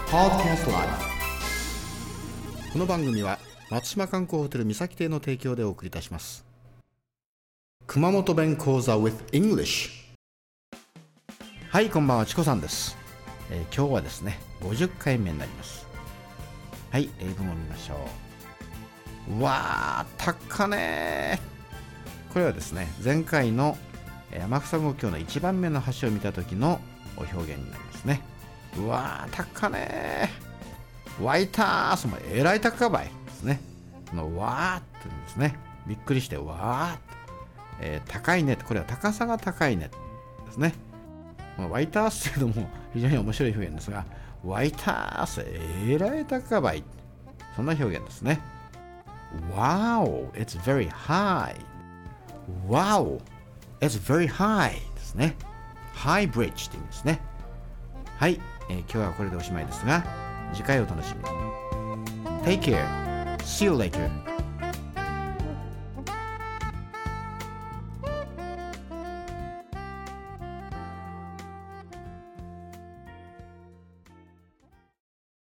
Podcast Live。 この番組は松島観光ホテル三崎邸の提供でお送りいたします。熊本弁講座 with English。 はい、こんばんは、チコさんです。今日はですね50回目になります。はい、英語も見ましょう。わー、高ねー。これはですね、前回の天草五橋の1番目の橋を見た時の表現になりますね。うわー、高ねー。湧いたー、そのえらい高ばいですね。このわーってですね、びっくりしてわーって、高いね、これは高さが高いねですね。この湧いたーすというのも非常に面白い表現ですが、湧いたーす、えらい高ばい、そんな表現ですね。Wow, it's very high. Wow, it's very high ですね。High bridge って意味ですね。はい、今日はこれでおしまいですが、次回お楽しみに。Take care. See you later.